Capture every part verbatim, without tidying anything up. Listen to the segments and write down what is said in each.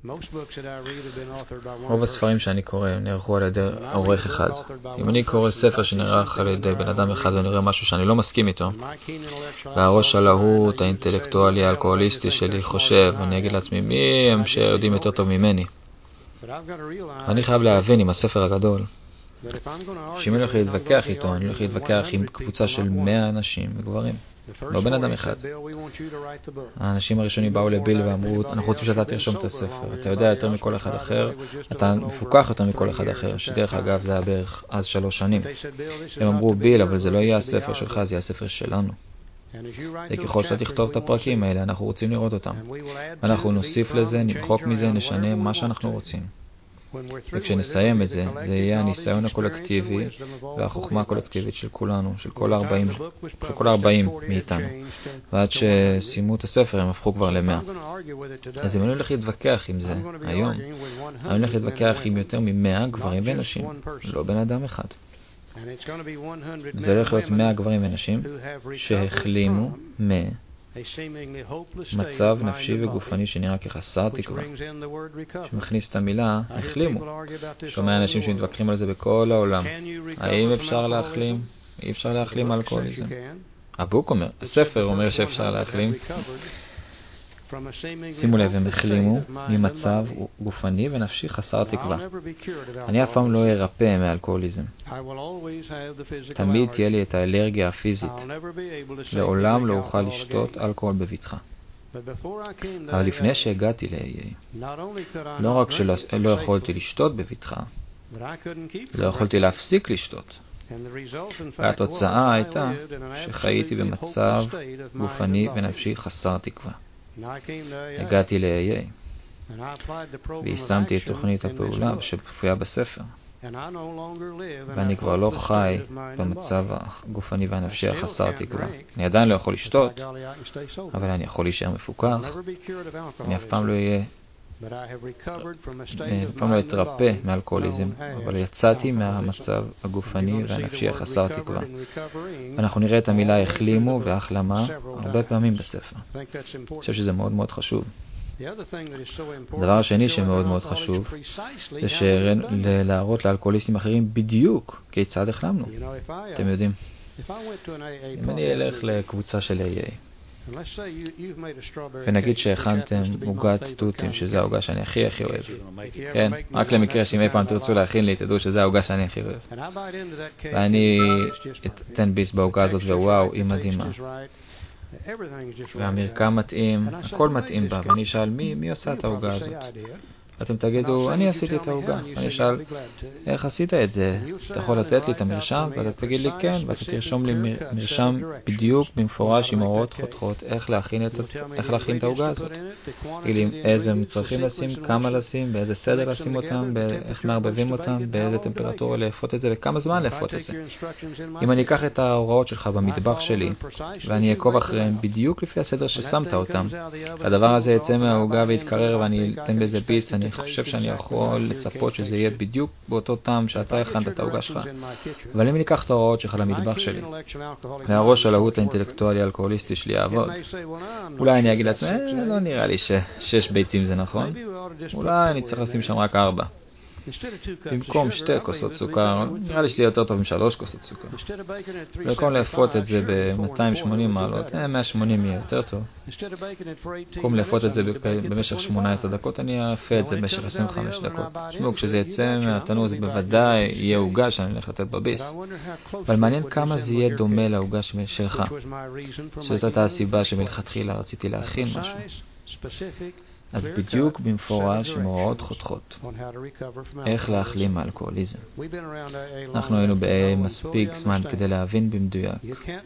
רוב הספרים שאני קורא נערכו על ידי עורך אחד. אם אני קורא ספר שנערך על ידי בן אדם אחד ונראה משהו שאני לא מסכים איתו, והראש הלהוט, האינטלקטואלי, האלכוהוליסטי שלי חושב, אני אגיד לעצמי, מי הם שיודעים יותר טוב ממני? אני חייב להבין עם הספר הגדול, שאם אני הולך להתווכח איתו, אני הולך להתווכח עם קבוצה של מאה אנשים וגברים, לא בן אדם אחד. האנשים הראשונים באו לביל ואמרו, אנחנו רוצים שאתה תרשום את הספר, אתה יודע יותר מכל אחד אחר, אתה מפוקח יותר מכל אחד אחר, שדרך אגב זה היה בערך אז שלוש שנים. הם אמרו, ביל, אבל זה לא יהיה הספר שלך, זה יהיה הספר שלנו. וככל שאתה תכתוב את הפרקים האלה, אנחנו רוצים לראות אותם. אנחנו נוסיף לזה, נמחוק מזה, נשנה מה שאנחנו רוצים. וכשנסיים את זה, זה יהיה הניסיון הקולקטיבי והחוכמה הקולקטיבית של כולנו, של כל ארבעים, של כל ארבעים מאיתנו. ועד שסיימו את הספר הם הפכו כבר למאה. אז אם אני הולך להתווכח עם זה היום, אני הולך להתווכח עם יותר ממאה גברים ונשים, לא בן אדם אחד. זה הולך להיות מאה גברים ונשים שהחלימו מ... מצב נפשי וגופני שנראה כחסר תקווה. שמכניס את המילה, החלימו. שומע אנשים שמתווכחים על זה בכל העולם. האם אפשר להחלים? אי אפשר להחלים אלכוהוליזם. הבוק אומר, הספר אומר שאפשר להחלים. שימו לב, הם החלימו ממצב גופני ונפשי חסר תקווה. אני אף פעם לא ארפא מאלכוהוליזם. תמיד תהיה לי את האלרגיה הפיזית. לעולם לא אוכל לשתות אלכוהול בבטחה. אבל לפני שהגעתי ל-איי איי, לא רק שלא יכולתי לשתות בבטחה, לא יכולתי להפסיק לשתות. והתוצאה הייתה שחייתי במצב גופני ונפשי חסר תקווה. הגעתי ל-איי איי ויישמתי את תוכנית הפעולה שמופיעה בספר, ואני כבר לא חי במצב הגופני והנפשי החסר תקווה. אני עדיין לא יכול לשתות, אבל אני יכול להישאר מפוקח. אני אף פעם לא אהיה אף פעם לא אתרפא מאלכוהוליזם, אבל יצאתי מהמצב הגופני והנפשי החסר תקווה. אנחנו נראה את המילה החלימו והחלמה הרבה פעמים בספר. אני חושב שזה מאוד מאוד חשוב. הדבר השני שמאוד מאוד חשוב זה להראות לאלכוהוליסטים אחרים בדיוק כיצד החלמנו. אתם יודעים, אם אני אלך לקבוצה של איי איי ונגיד שהכנתם עוגת תותים, שזה העוגה שאני הכי הכי אוהב, כן? רק למקרה שאם אי פעם תרצו להכין לי, תדעו שזה העוגה שאני הכי אוהב, ואני אתן ביס בעוגה הזאת, ווואו, היא מדהימה, והמרקם מתאים, הכל מתאים בה, ואני אשאל, מי, מי עושה את העוגה הזאת? אתם תגידו, אני עשיתי את העוגה. אני אשאל, איך עשית את זה? אתה יכול לתת לי את המרשם? ואתה תגיד לי כן, ואתה תרשום לי מרשם בדיוק במפורש עם הוראות חותכות, איך להכין את, איך להכין את העוגה הזאת. תגיד לי איזה מצרכים לשים, כמה לשים, באיזה סדר לשים אותם, איך מערבבים אותם, באיזה טמפרטורה לאפות את זה, וכמה זמן לאפות את זה. אם אני אקח את ההוראות שלך במטבח שלי, ואני אעקוב אחריהם בדיוק לפי הסדר ששמת אותם, הדבר הזה יצא מהעוגה ויתקרר ואני אתן בזה ביס, אני חושב שאני יכול לצפות שזה יהיה בדיוק באותו טעם שאתה הכנת את העוגה שלך. אבל אם אני אקח את ההוראות שלך למטבח שלי, והראש הלהוט האינטלקטואלי האלכוהוליסטי שלי יעבוד, אולי אני אגיד לעצמי, אה, לא נראה לי ששש ביצים זה נכון, אולי אני צריך לשים שם רק ארבע. במקום שתי כוסות סוכר, נראה לי שזה יותר טוב משלוש כוסות סוכר. במקום לאפות את זה ב-מאתיים ושמונים מעלות, מאה ושמונים יהיה יותר טוב. במקום לאפות את זה במשך שמונה עשרה דקות, אני אפה את זה במשך עשרים וחמש דקות. תשמעו, כשזה יצא מהתנור זה בוודאי יהיה עוגה שאני הולך לתת בביס. אבל מעניין כמה זה יהיה דומה לעוגה שלך. שזאת הייתה הסיבה שמלכתחילה רציתי להכין משהו. אז בדיוק במפורש עם הוראות חותכות איך להחלים מאלכוהוליזם. אנחנו היינו מספיק זמן כדי להבין במדויק.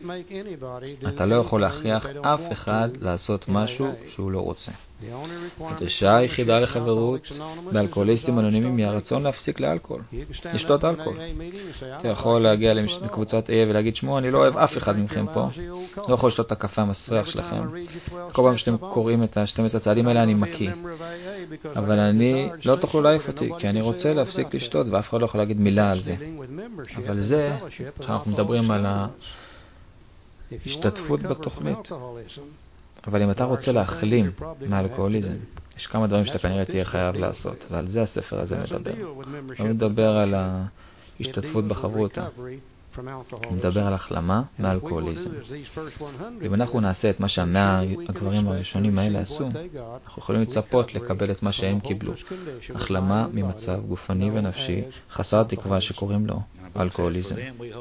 אתה לא יכול להכריח אף אחד לעשות משהו שהוא לא רוצה. הדרישה היחידה לחברות באלכוהוליסטים אנונימיים היא הרצון להפסיק לאלכוהול, לשתות אלכוהול. אתה יכול להגיע לקבוצת איי ולהגיד, שמו, אני לא אוהב אף אחד מכם פה, לא יכול לשתות את הקפה המסריח שלכם. כל פעם שאתם קוראים את ה-שנים עשר הצעדים האלה אני מקיא, אבל אני לא תוכלו להעיף אותי, כי אני רוצה להפסיק לשתות ואף אחד לא יכול להגיד מילה על זה. אבל זה, כשאנחנו מדברים על ההשתתפות בתוכנית, אבל אם אתה רוצה להחלים מאלכוהוליזם, יש כמה דברים שאתה כנראה תהיה חייב לעשות, ועל זה הספר הזה מדבר. הוא מדבר על ההשתתפות בחברותה. הוא מדבר על החלמה מאלכוהוליזם. אם אנחנו נעשה את מה שהמאה הגברים הראשונים האלה עשו, אנחנו יכולים לצפות לקבל את מה שהם קיבלו. החלמה ממצב גופני ונפשי חסר תקווה שקוראים לו אלכוהוליזם.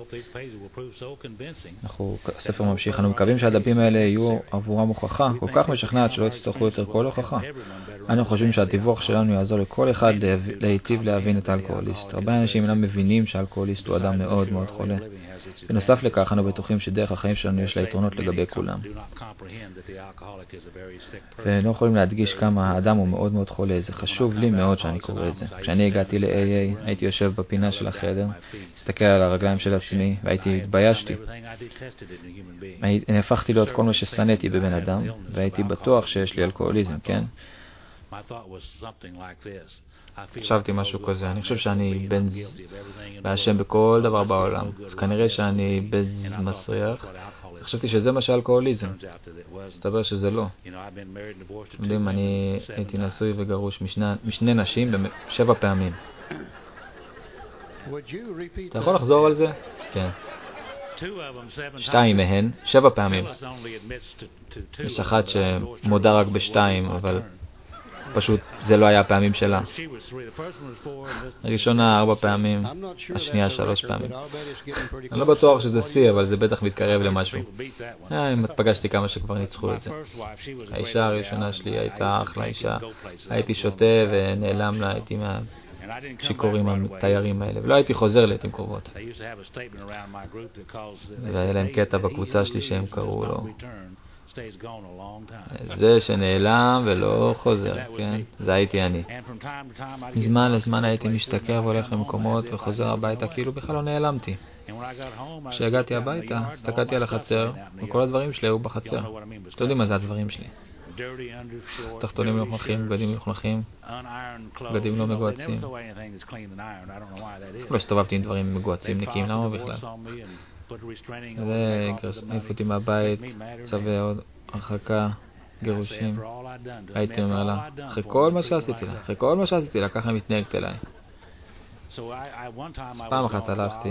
אנחנו, הספר ממשיך, אנו מקווים שהדפים האלה יהיו עבורם הוכחה כל כך משכנעת שלא יצטרכו יותר כל הוכחה. אנו חושבים שהדיווח שלנו יעזור לכל אחד להיטיב להבין את האלכוהוליסט. הרבה אנשים אינם מבינים שהאלכוהוליסט הוא אדם מאוד מאוד חולה. בנוסף לכך, אנו בטוחים שדרך החיים שלנו יש לה יתרונות לגבי כולם. ולא יכולים להדגיש כמה האדם הוא מאוד מאוד חולה. זה חשוב לי מאוד שאני קורא את זה. כשאני הגעתי ל-איי איי, הייתי יושב בפינה של החדר, הסתכל על הרגליים של עצמי, והייתי התביישתי. אני הפכתי להיות כל מה ששנאתי בבן אדם, והייתי בטוח שיש לי אלכוהוליזם, כן? חשבתי משהו כזה, אני חושב שאני בן באשם בכל דבר בעולם, אז כנראה שאני בן מסריח. חשבתי שזה מה שאלכוהוליזם, הסתבר שזה לא. יודעים, אני הייתי נשוי וגרוש משני נשים בשבע פעמים. אתה יכול לחזור על זה? כן. שתיים מהן, שבע פעמים. יש אחת שמודה רק בשתיים, אבל פשוט זה לא היה הפעמים שלה. הראשונה ארבע פעמים, השנייה שלוש פעמים. אני לא בטוח שזה סי, אבל זה בטח מתקרב למשהו. אה, אם פגשתי כמה שכבר ניצחו את זה. האישה הראשונה שלי הייתה אחלה אישה. הייתי שותה ונעלם לה, הייתי מהשיכורים התיירים האלה, ולא הייתי חוזר לעתים קרובות. והיה להם קטע בקבוצה שלי שהם קראו לו זה שנעלם ולא חוזר, כן? זה הייתי אני. מזמן לזמן הייתי משתכר והולך למקומות וחוזר הביתה כאילו בכלל לא נעלמתי. כשהגעתי הביתה, הסתכלתי על החצר וכל הדברים שלי היו בחצר. אתם יודעים מה זה הדברים שלי? תחתונים מלוכלכים, בגדים מלוכלכים, בגדים לא מגועצים. לא הסתובבתי עם דברים מגועצים נקיים, למה בכלל? זה העיף אותי מהבית, צווי עוד הרחקה, גירושים. הייתי אומר לה, אחרי כל מה שעשיתי לה, אחרי כל מה שעשיתי לה, ככה מתנהגת אליי. אז פעם אחת הלכתי,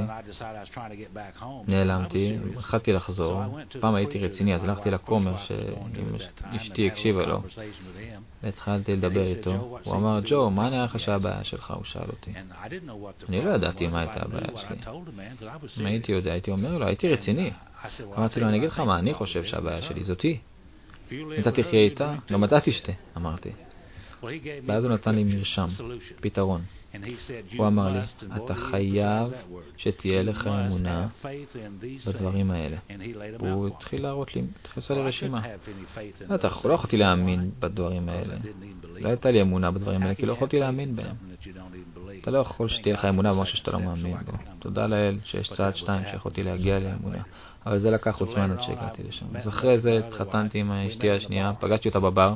נעלמתי, החלטתי לחזור. פעם הייתי רציני, אז הלכתי לכומר שאשתי הקשיבה לו. והתחלתי לדבר איתו. הוא אמר, ג'ו, מה נראה לך שהבעיה שלך? הוא שאל אותי. אני לא ידעתי מה הייתה הבעיה שלי. אם הייתי יודע, הייתי אומר לו, הייתי רציני. אמרתי לו, אני אגיד לך מה, אני חושב שהבעיה שלי זאתי. אם אתה תחיה איתה, גם אתה תשתה, אמרתי. ואז הוא נתן לי מרשם, פתרון. הוא אמר לי, אתה חייב שתהיה לך אמונה בדברים האלה. הוא התחיל להראות לי, התחיל לעשות לי רשימה. אתה לא יכולתי להאמין בדברים האלה. לא הייתה לי אמונה בדברים האלה, כי לא יכולתי להאמין בהם. אתה לא יכול שתהיה לך אמונה במשהו שאתה לא מאמין בו. תודה לאל שיש צעד שתיים שיכולתי להגיע לאמונה. אבל זה לקח עוד זמן עד שהגעתי לשם. אז אחרי זה התחתנתי עם אשתי השנייה, פגשתי אותה בבר,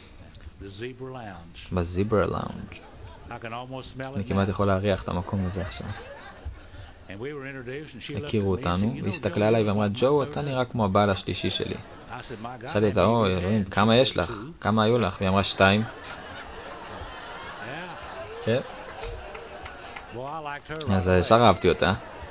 בזיבר לאונג'. אני כמעט יכול להריח את המקום הזה עכשיו. הכירו אותנו, היא הסתכלה עליי ואמרה, ג'ו, אתה נראה כמו הבעל השלישי שלי. שאלתי אותה, אוי, אלוהים, כמה יש לך? כמה היו לך? והיא אמרה, שתיים. כן. אז ישר אהבתי אותה.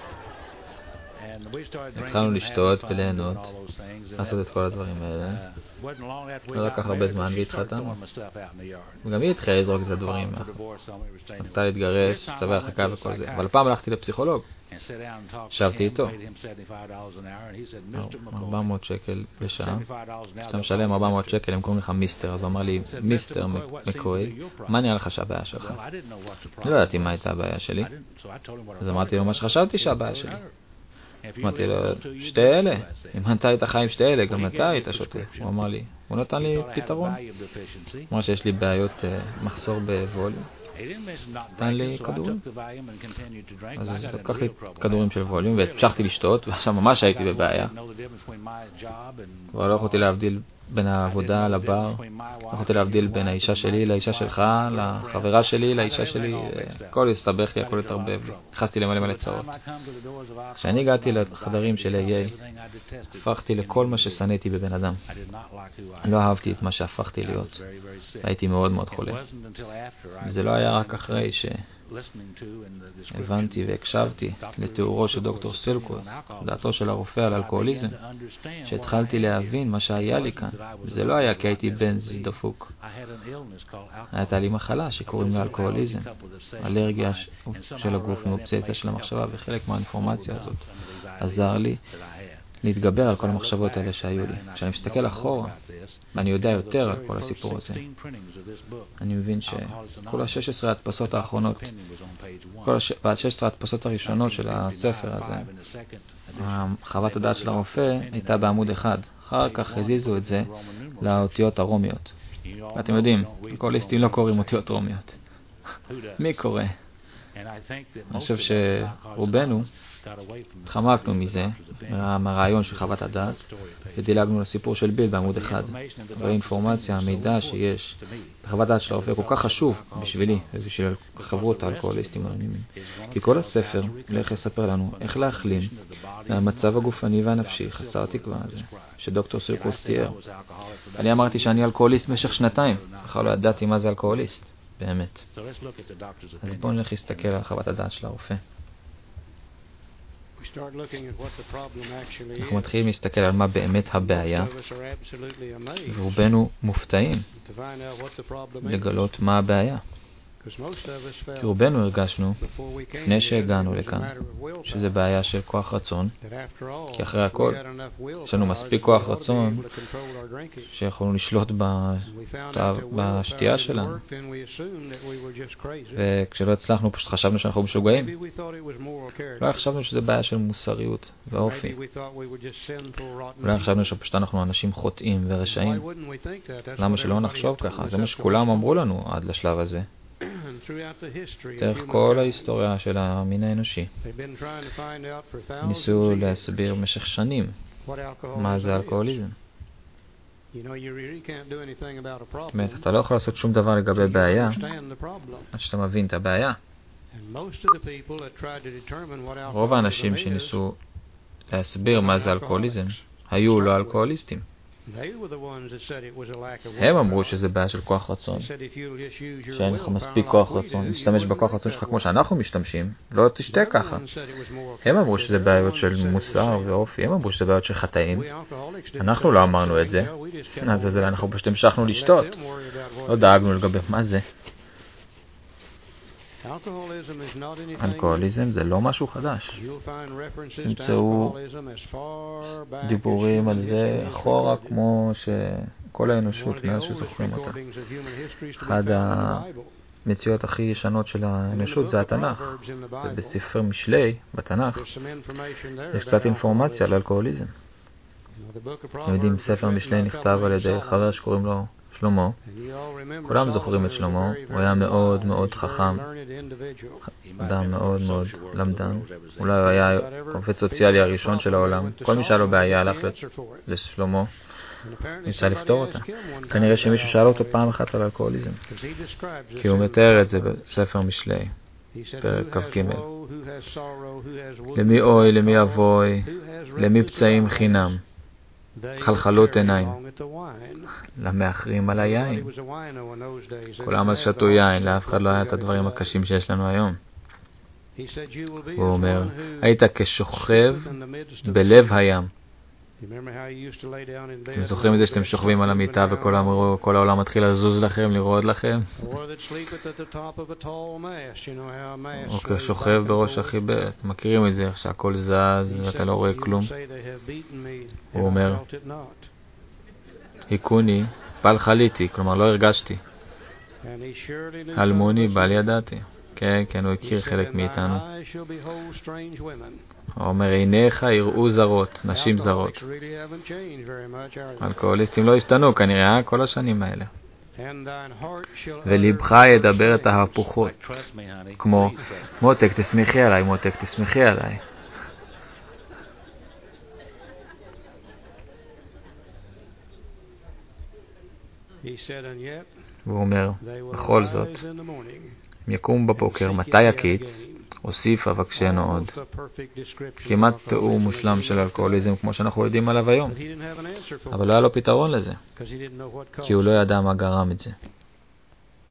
התחלנו לשתות וליהנות, לעשות את כל הדברים האלה. לא לקח הרבה זמן והתחתנו. וגם היא התחילה לזרוק את הדברים. רצתה להתגרש, צווי הרחקה וכל זה. אבל פעם הלכתי לפסיכולוג. ישבתי איתו. ארבע מאות שקל לשעה. כשאתה משלם ארבע מאות שקל, הם קוראים לך מיסטר. אז הוא אמר לי, מיסטר מקוי, מה נראה לך שהבעיה שלך? אני לא ידעתי מה הייתה הבעיה שלי. אז אמרתי לו מה שחשבתי שהבעיה שלי. אמרתי לו, שתי אלה, אם אתה היית חי עם שתי אלה, גם אתה היית שותה. הוא אמר לי, הוא נתן לי פתרון. הוא אמר שיש לי בעיות מחסור בווליום. נתן לי כדורים. אז לקח לי כדורים של ווליום, והמשכתי לשתות, ועכשיו ממש הייתי בבעיה. כבר לא יכולתי להבדיל בין העבודה לבר, לא יכולתי להבדיל בין האישה שלי לאישה שלך, לחברה שלי לאישה שלי, הכל הסתבך לי, הכל התערבב לי, נכנסתי למלא מלא צרות. כשאני הגעתי לחדרים של איי איי, הפכתי לכל מה ששנאתי בבן אדם. לא אהבתי את מה שהפכתי להיות, הייתי מאוד מאוד חולה. זה לא היה רק אחרי שהבנתי והקשבתי לתיאורו של דוקטור סילקוס, דעתו של הרופא על אלכוהוליזם, שהתחלתי להבין מה שהיה לי כאן. זה לא היה כי הייתי בן דפוק. הייתה לי מחלה שקוראים לה אלכוהוליזם, אלרגיה של הגוף מאובססיה של המחשבה, וחלק מהאינפורמציה הזאת עזר לי להתגבר על כל המחשבות האלה שהיו לי. כשאני מסתכל אחורה, ואני יודע יותר על כל הסיפור הזה, אני מבין שכל ה-שש עשרה הדפסות האחרונות, כל ה-שש עשרה הדפסות הראשונות של הספר הזה, חוות הדעת של הרופא הייתה בעמוד אחד. אחר כך הזיזו את זה לאותיות הרומיות. ואתם יודעים, אלכוהוליסטים לא קוראים אותיות רומיות. מי קורא? אני חושב שרובנו חמקנו מזה, מהרעיון של חוות הדעת, ודילגנו לסיפור של ביל בעמוד אחד. והאינפורמציה, המידע שיש בחוות הדעת של הרופא כל כך חשוב בשבילי, ובשביל חברות האלכוהוליסטים האנונימיים. כי כל הספר הולך לספר לנו איך להחלים מהמצב הגופני והנפשי חסר תקווה הזה, שדוקטור סילקוס תיאר. אני אמרתי שאני אלכוהוליסט במשך שנתיים, בכלל לא ידעתי מה זה אלכוהוליסט, באמת. אז בואו נלך להסתכל על חוות הדעת של הרופא. אנחנו מתחילים להסתכל על מה באמת הבעיה, ורובנו מופתעים לגלות מה הבעיה. כי רובנו הרגשנו, לפני שהגענו לכאן, שזה בעיה של כוח רצון, כי אחרי הכל, יש לנו מספיק כוח רצון שיכולנו לשלוט בשתייה שלנו. וכשלא הצלחנו, פשוט חשבנו שאנחנו משוגעים. לא חשבנו שזה בעיה של מוסריות ואופי. אולי חשבנו שפשוט אנחנו אנשים חוטאים ורשעים. למה שלא נחשוב ככה? זה מה שכולם אמרו לנו עד לשלב הזה. דרך כל ההיסטוריה של המין האנושי ניסו להסביר במשך שנים מה זה אלכוהוליזם. באמת, אתה לא יכול לעשות שום דבר לגבי בעיה עד שאתה מבין את הבעיה. רוב האנשים שניסו להסביר מה זה אלכוהוליזם היו לא אלכוהוליסטים. הם אמרו שזה בעיה של כוח רצון, שאין לך מספיק כוח רצון להשתמש בכוח רצון שלך כמו שאנחנו משתמשים, לא תשתה ככה. הם אמרו שזה בעיות של מוסר ואופי, הם אמרו שזה בעיות של חטאים. אנחנו לא אמרנו את זה, אז זה אנחנו פשוט המשכנו לשתות, לא דאגנו לגבי מה זה. אלכוהוליזם זה לא משהו חדש. תמצאו דיבורים על זה אחורה כמו שכל האנושות מאז שזוכרים אותה. אחד המציאות הכי ישנות של האנושות זה התנ"ך. ובספר משלי, בתנ"ך, יש קצת אינפורמציה על אלכוהוליזם. אתם יודעים, ספר משלי נכתב על ידי חבר שקוראים לו שלמה. כולם זוכרים את שלמה, הוא היה מאוד מאוד חכם, אדם מאוד מאוד למדן. אולי הוא היה קופץ סוציאלי הראשון של העולם. כל מי שהיה לו בעיה הלך לשלמה, ניסה לפתור אותה. כנראה שמישהו שאל אותו פעם אחת על אלכוהוליזם, כי הוא מתאר את זה בספר משלי, פרק כ"ג. למי אוי, למי אבוי, למי פצעים חינם, חלחלות עיניים, למאחרים על היין. כולם אז שתו יין, לאף אחד לא היה את הדברים הקשים שיש לנו היום. הוא אומר, היית כשוכב בלב הים. אתם זוכרים את זה שאתם שוכבים על המיטה וכל העולם מתחיל לזוז לכם, לרעוד לכם? או כשוכב בראש החיברת. מכירים את זה, איך שהכל זז ואתה לא רואה כלום? הוא אומר, היכוני, בל חליתי, כלומר לא הרגשתי. הלמוני, בל ידעתי. כן, כן, הוא הכיר חלק מאיתנו. הוא אומר, עיניך יראו זרות, נשים זרות. אלכוהוליסטים לא השתנו כנראה כל השנים האלה. ולבך ידבר את ההפוכות, כמו מותק תשמחי עליי, מותק תשמחי עליי. והוא אומר, בכל זאת, אם יקום בבוקר, מתי יקיץ? הוסיף אבקשנו עוד. כמעט תיאור מושלם של אלכוהוליזם כמו שאנחנו יודעים עליו היום. אבל לא היה לו פתרון לזה, כי הוא לא ידע מה גרם את זה.